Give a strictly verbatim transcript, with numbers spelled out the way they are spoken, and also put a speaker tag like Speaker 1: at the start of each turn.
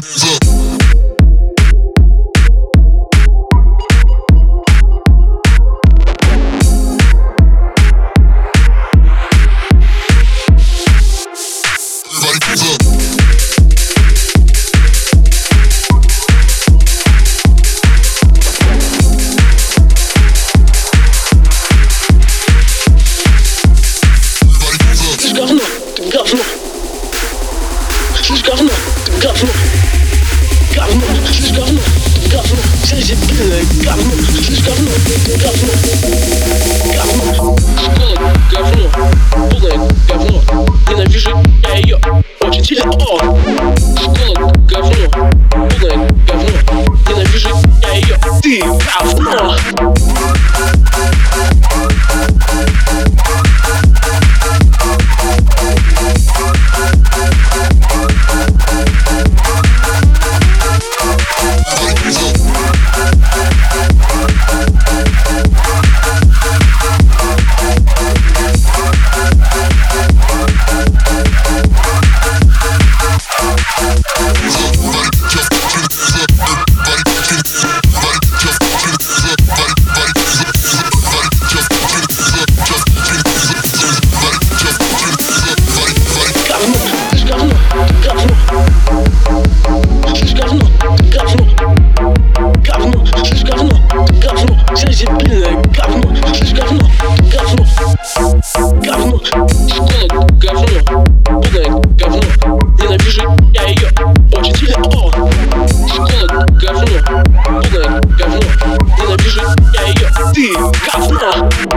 Speaker 1: Слышь, говно, ты говно, говно, слышь, говно, ты говно, вся дебильная говно, слышь, говно, ты говно, говно, школа говно, полное говно, ненавижу я ее очень сильно, о, школа говно, полное говно, ненавижу я ее, ты говно. Дебильное говно, слышь, говно, говно, говно, школа говно, полное говно, ненавижу я ее очень сильно, о, школа говно, полное говно, ненавижу я ее, ты говно.